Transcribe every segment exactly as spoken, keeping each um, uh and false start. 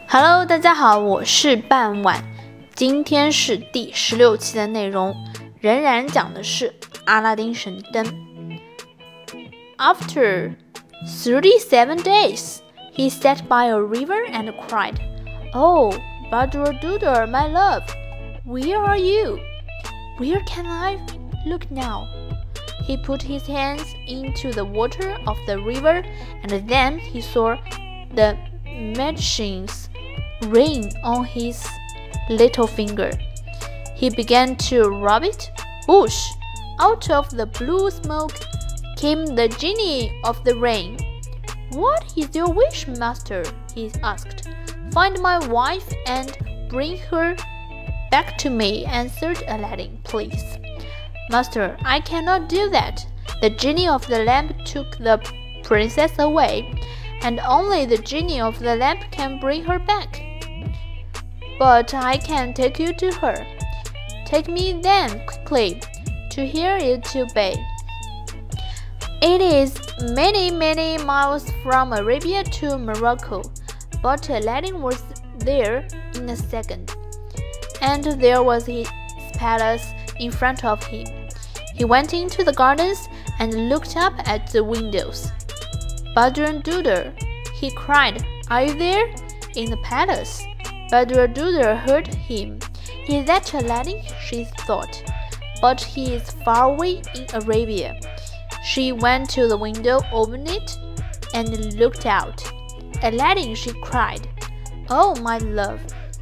Hello， 大家好，我是半晚，今天是第十六期的内容，仍然讲的是阿拉丁神灯。After thirty-seven days, he sat by a river and cried, "Oh, Badr-Dudur, my love, where are you? Where can I look now?" He put his hands into the water of the river, and then he saw the magician's ring on his little finger. He began to rub it. Whoosh! Out of the blue smoke came the genie of the ring. "What is your wish, master?" he asked. "Find my wife and bring her back to me," answered Aladdin. "Please, master, I cannot do that. The genie of the lamp took the princess away, and only the genie of the lamp can bring her back. But I can take you to her. Take me then quickly, to hear you to obey. It is many, many miles from Arabia to Morocco." But Aladdin was there in a second, and there was his palace in front of him. He went into the gardens and looked up at the windows. "Badr-Dudur," he cried, "are you there?" "In the palace." Badr-Dudur heard him. "Is that Aladdin?" she thought. "But he is far away in Arabia." She went to the window, opened it, and looked out. "Aladdin," she cried, "Oh, my love."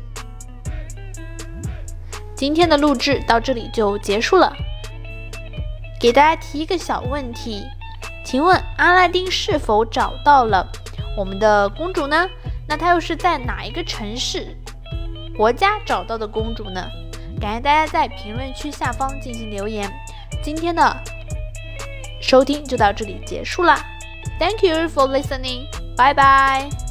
今天的录制到这里就结束了。给大家提一个小问题，请问阿拉丁是否找到了我们的公主呢？那他又是在哪一个城市国家找到的公主呢？感谢大家在评论区下方进行留言。今天的收听就到这里结束啦。 Thank you for listening. Bye bye.